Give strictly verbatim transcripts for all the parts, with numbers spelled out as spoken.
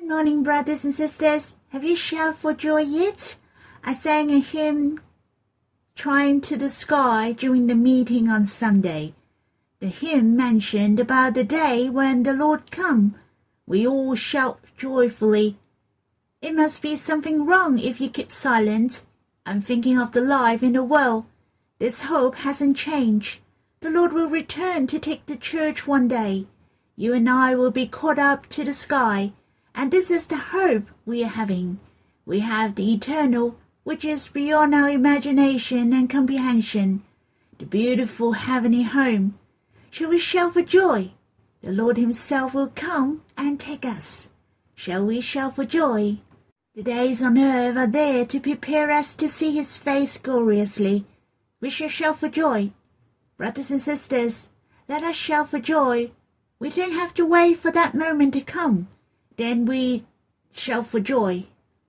morning, brothers and sisters. Have you shouted for joy yet? I sang a hymn, Trying to the Sky, during the meeting on Sunday. The hymn mentioned about the day when the Lord come. We all shout joyfully. It must be something wrong if you keep silent. I'm thinking of the life in the world. This hope hasn't changed. The Lord will return to take the church one day. You and I will be caught up to the sky, and this is the hope we are having. We have the eternal, which is beyond our imagination and comprehension, the beautiful heavenly home. Shall we shout for joy? The Lord himself will come and take us. Shall we shout for joy? The days on earth are there to prepare us to see his face gloriously. We shall shout for joy. Brothers and sisters, let us shout for joy. We don't have to wait for that moment to come. Then we shout for joy.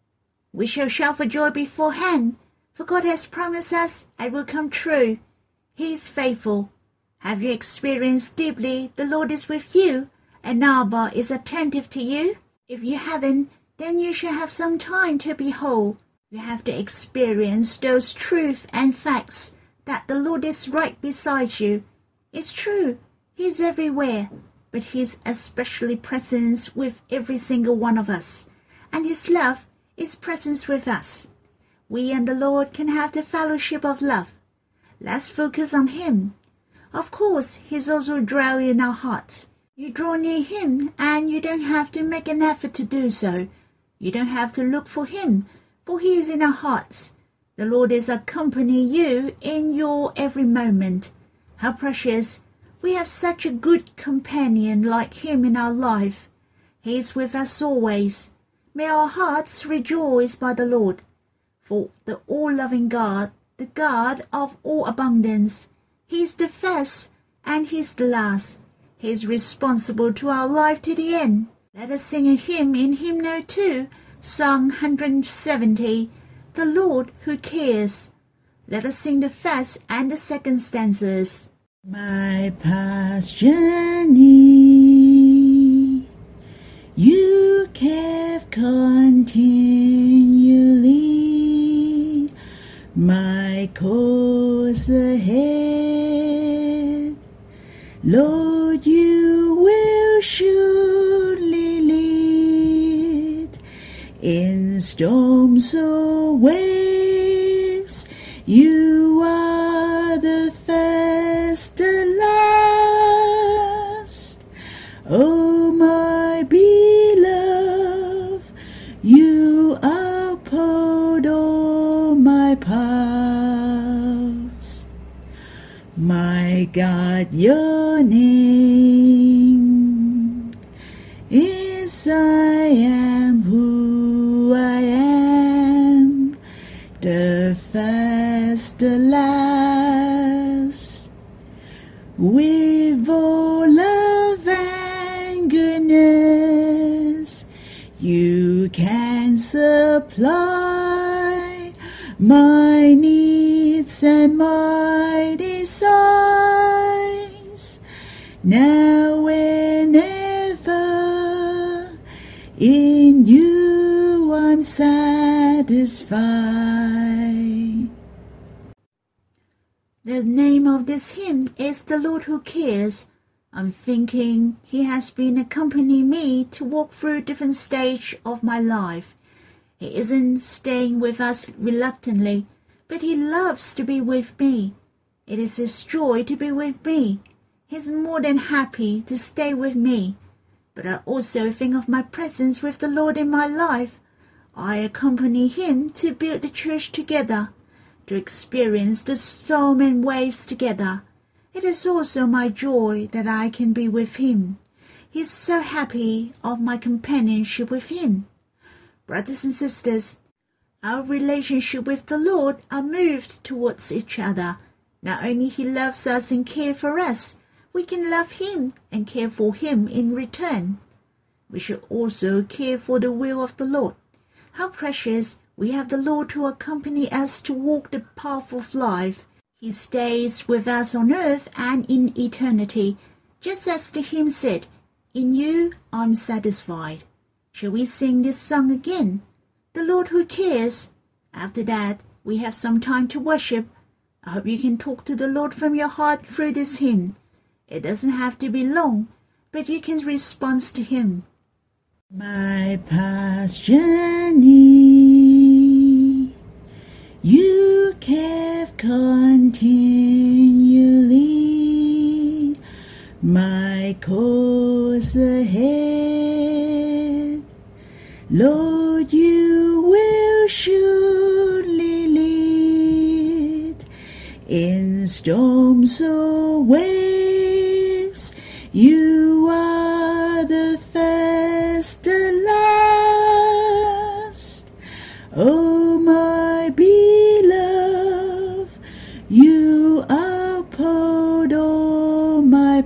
We shall shout for joy beforehand, for God has promised us it will come true. He is faithful. Have you experienced deeply the Lord is with you, and Abba is attentive to you? If you haven't, then you shall have some time to behold. You have to experience those truths and facts that the Lord is right beside you. It's true, he's everywhere, but he's especially present with every single one of us, and his love is present with us. We and the Lord can have the fellowship of love. Let's focus on him. Of course, he's also dwelling in our hearts. You draw near him, and you don't have to make an effort to do so. You don't have to look for him, for he is in our hearts. The Lord is accompanying you in your every moment. How precious! We have such a good companion like him in our life. He is with us always. May our hearts rejoice by the Lord. For the all-loving God, the God of all abundance, he is the first and he is the last. He is responsible to our life to the end. Let us sing a hymn in Hymn No. two, Song one hundred seventy, The Lord Who Cares. Let us sing the first and the second stanzas. My past journey you kept continually, my course ahead, Lord, you will surely lead. In storms or waves, you are the first and last. Oh, my beloved, you uphold all my paths. My God, your name is I am who I am, the first, the last. With all love and goodness, you can supply my needs and my desires. Now and ever, in you I'm satisfied. The name of this hymn is The Lord Who Cares. I'm thinking he has been accompanying me to walk through different stages of my life. He isn't staying with us reluctantly, but he loves to be with me. It is his joy to be with me. He's more than happy to stay with me. But I also think of my presence with the Lord in my life. I accompany him to build the church together, to experience the storm and waves together. It is also my joy that I can be with him. He is so happy of my companionship with him. Brothers and sisters, our relationship with the Lord are moved towards each other. Not only he loves us and cares for us, we can love him and care for him in return. We should also care for the will of the Lord. How precious we have the Lord who accompany us to walk the path of life. He stays with us on earth and in eternity, just as the hymn said, in you I'm satisfied. Shall we sing this song again? The Lord Who Cares. After that, we have some time to worship. I hope you can talk to the Lord from your heart through this hymn. It doesn't have to be long, but you can respond to Him. My past journey, you kept continually my course ahead. Lord, you will surely lead in storms or waves. You are the first and last. Oh, my beloved, you uphold all my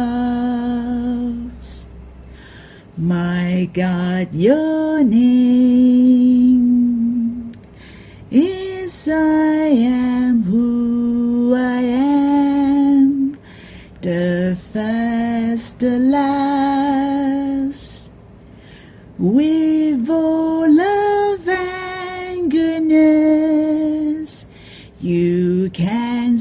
paths. My God, your name is I am who I am, the first, the last. With all love and goodness, you can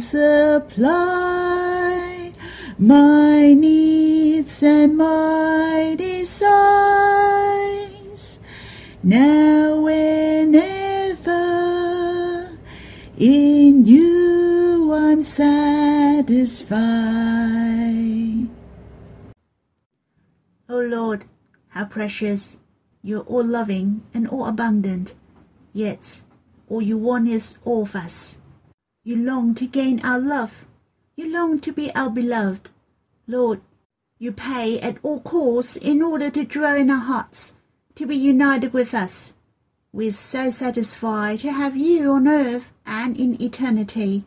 supply my needs and my desires. Now and ever, in you I'm satisfied. O Lord, how precious! You're all loving and all abundant, yet all you want is all of us. You long to gain our love. You long to be our beloved. Lord, you pay at all costs in order to dwell in our hearts, to be united with us. We're so satisfied to have you on earth and in eternity.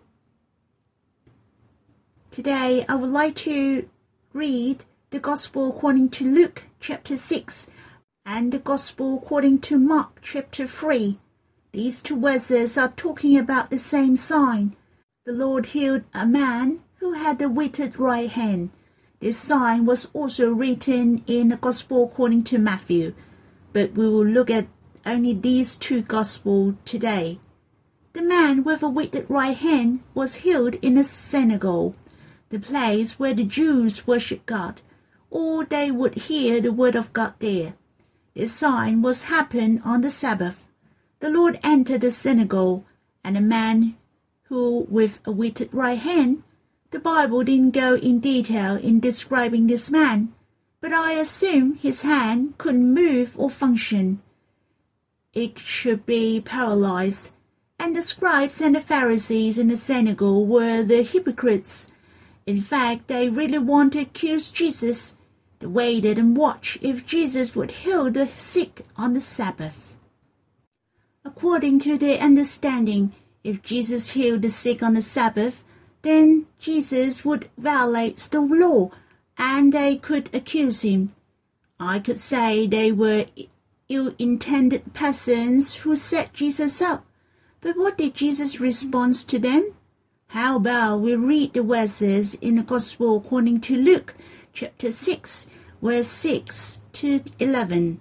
Today I would like to read the Gospel according to Luke chapter six and the Gospel according to Mark chapter three. These two verses are talking about the same sign. The Lord healed a man who had a withered right hand. This sign was also written in the Gospel according to Matthew, but we will look at only these two Gospels today. The man with a withered right hand was healed in a synagogue, the place where the Jews worship God, or they would hear the word of God there. This sign was happened on the Sabbath. The Lord entered the synagogue, and a man who with a withered right hand, the Bible didn't go in detail in describing this man, but I assume his hand couldn't move or function. It should be paralyzed, and the scribes and the Pharisees in the synagogue were the hypocrites. In fact, they really wanted to accuse Jesus. They waited and watched if Jesus would heal the sick on the Sabbath. According to their understanding, if Jesus healed the sick on the Sabbath, then Jesus would violate the law, and they could accuse him. I could say they were ill-intended persons who set Jesus up. But what did Jesus respond to them? How about we read the verses in the Gospel according to Luke, chapter six, verse six to eleven.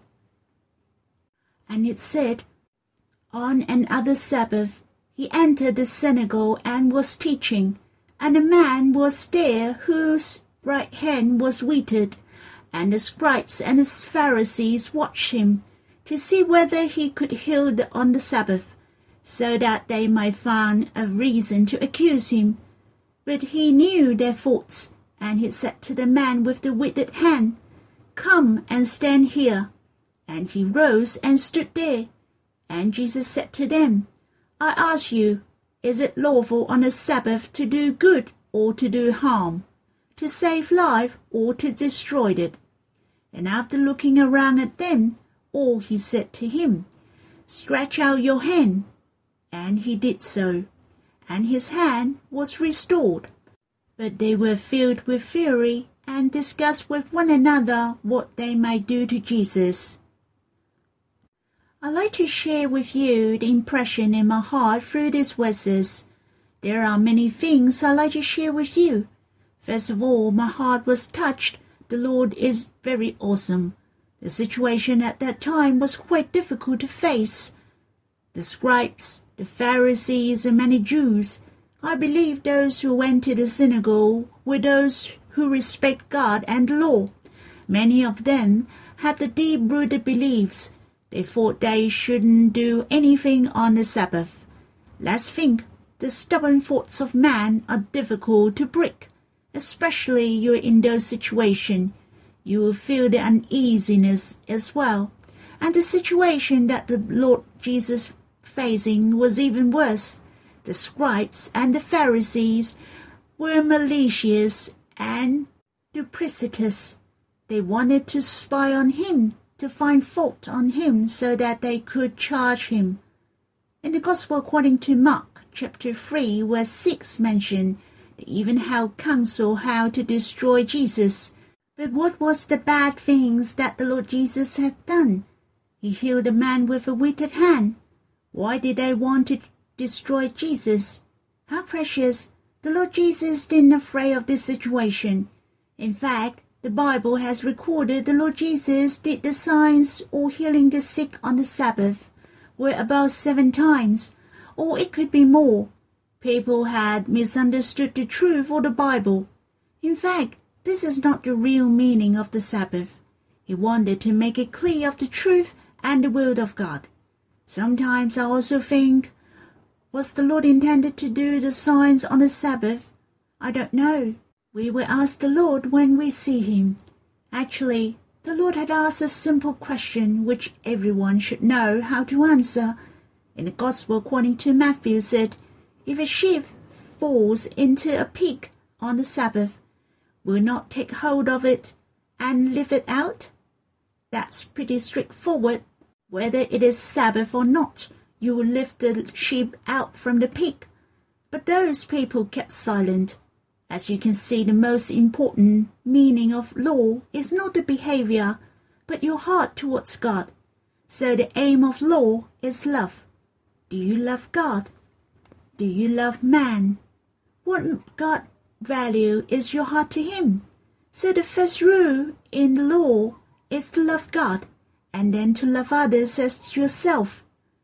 And it said, on another Sabbath, he entered the synagogue and was teaching, and a man was there whose right hand was withered, and the scribes and the Pharisees watched him to see whether he could heal on the Sabbath, so that they might find a reason to accuse him. But he knew their thoughts, and he said to the man with the withered hand, Come and stand here. And he rose and stood there. And Jesus said to them, I ask you, is it lawful on a Sabbath to do good or to do harm, to save life or to destroy it? And after looking around at them, all he said to him, Stretch out your hand. And he did so, and his hand was restored. But they were filled with fury and discussed with one another what they might do to Jesus. I'd like to share with you the impression in my heart through these verses. There are many things I'd like to share with you. First of all, my heart was touched. The Lord is very awesome. The situation at that time was quite difficult to face. The scribes, the Pharisees, and many Jews, I believe those who went to the synagogue were those who respect God and the law. Many of them had the deep-rooted beliefs. They thought they shouldn't do anything on the Sabbath. Let's think. The stubborn thoughts of man are difficult to break. Especially you're in those situations. You will feel the uneasiness as well. And the situation that the Lord Jesus facing was even worse. The scribes and the Pharisees were malicious and duplicitous. They wanted to spy on him, to find fault on him so that they could charge him. In the Gospel according to Mark, chapter three, verse six mentioned they even held counsel how to destroy Jesus. But what was the bad things that the Lord Jesus had done? He healed a man with a withered hand. Why did they want to destroy Jesus? How precious! The Lord Jesus didn't afraid of this situation. In fact, the Bible has recorded the Lord Jesus did the signs or healing the sick on the Sabbath were about seven times, or it could be more. People had misunderstood the truth of the Bible. In fact, this is not the real meaning of the Sabbath. He wanted to make it clear of the truth and the will of God. Sometimes I also think, was the Lord intended to do the signs on the Sabbath? I don't know. We will ask the Lord when we see him. Actually, the Lord had asked a simple question which everyone should know how to answer. In the Gospel according to Matthew said, if a sheep falls into a pit on the Sabbath, will not take hold of it and lift it out? That's pretty straightforward. Whether it is Sabbath or not, you will lift the sheep out from the pit. But those people kept silent. As you can see, the most important meaning of law is not the behavior, but your heart towards God. So the aim of law is love. Do you love God? Do you love man? What God value is your heart to him? So the first rule in the law is to love God, and then to love others as yourself.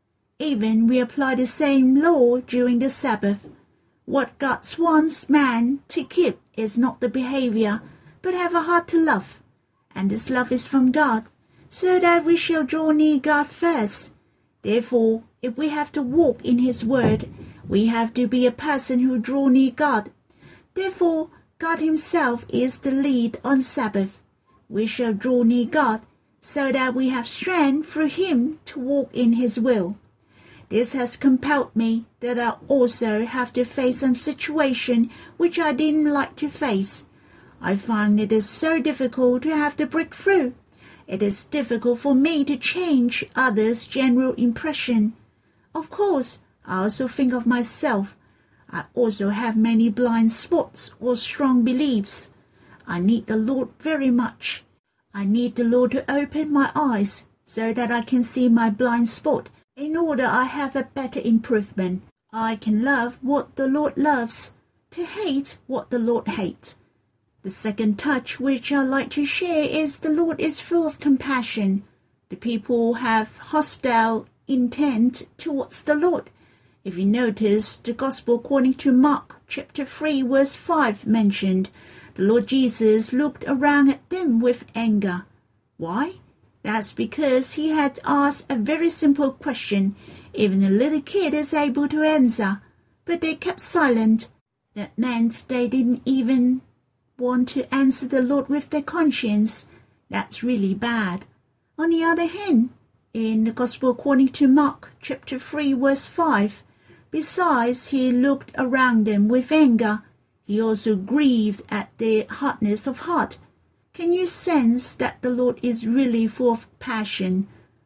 Even we apply the same law during the Sabbath. What God wants man to keep is not the behavior, but have a heart to love. And this love is from God, so that we shall draw near God first. Therefore, if we have to walk in his word, we have to be a person who draw near God. Therefore, God himself is the lead on Sabbath. We shall draw near God, so that we have strength through him to walk in his will. This has compelled me that I also have to face some situation which I didn't like to face. I find it is so difficult to have to break through. It is difficult for me to change others' general impression. Of course, I also think of myself. I also have many blind spots or strong beliefs. I need the Lord very much. I need the Lord to open my eyes so that I can see my blind spot. In order I have a better improvement, I can love what the Lord loves, to hate what the Lord hates. The second touch which I like to share is the Lord is full of compassion. The people have hostile intent towards the Lord. If you notice, the Gospel according to Mark chapter three verse five mentioned, the Lord Jesus looked around at them with anger. Why? That's because he had asked a very simple question. Even a little kid is able to answer, but they kept silent. That meant they didn't even want to answer the Lord with their conscience. That's really bad. On the other hand, in the Gospel according to Mark chapter three verse five, besides he looked around them with anger, he also grieved at their hardness of heart. Can you sense that the Lord is really full of passion?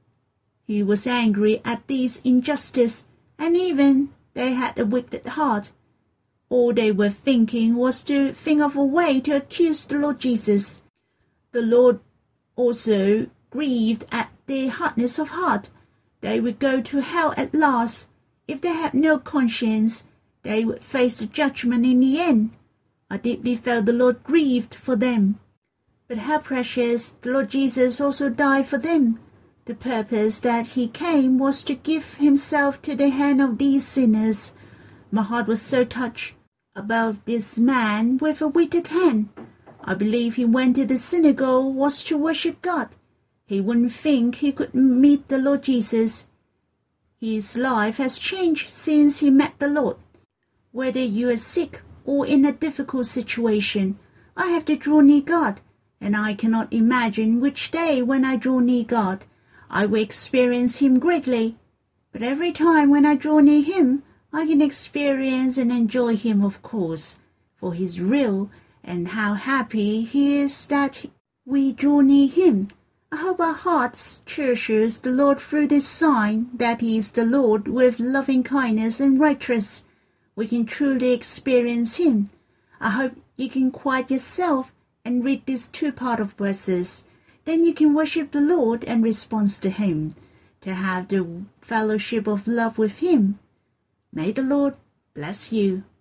He was angry at this injustice, and even they had a wicked heart. All they were thinking was to think of a way to accuse the Lord Jesus. The Lord also grieved at their hardness of heart. They would go to hell at last. If they had no conscience, they would face the judgment in the end. I deeply felt the Lord grieved for them. But how precious the Lord Jesus also died for them. The purpose that he came was to give himself to the hand of these sinners. My heart was so touched about this man with a withered hand. I believe he went to the synagogue was to worship God. He wouldn't think he could meet the Lord Jesus. His life has changed since he met the Lord. Whether you are sick or in a difficult situation, I have to draw near God, and I cannot imagine which day when I draw near God, I will experience him greatly. But every time when I draw near him, I can experience and enjoy him, of course, for he's real, and how happy he is that we draw near him. I hope our hearts cherishes the Lord through this sign that he is the Lord with loving kindness and righteousness. We can truly experience him. I hope you can quiet yourself and read these two part of verses. Then you can worship the Lord and respond to him, to have the fellowship of love with him. May the Lord bless you.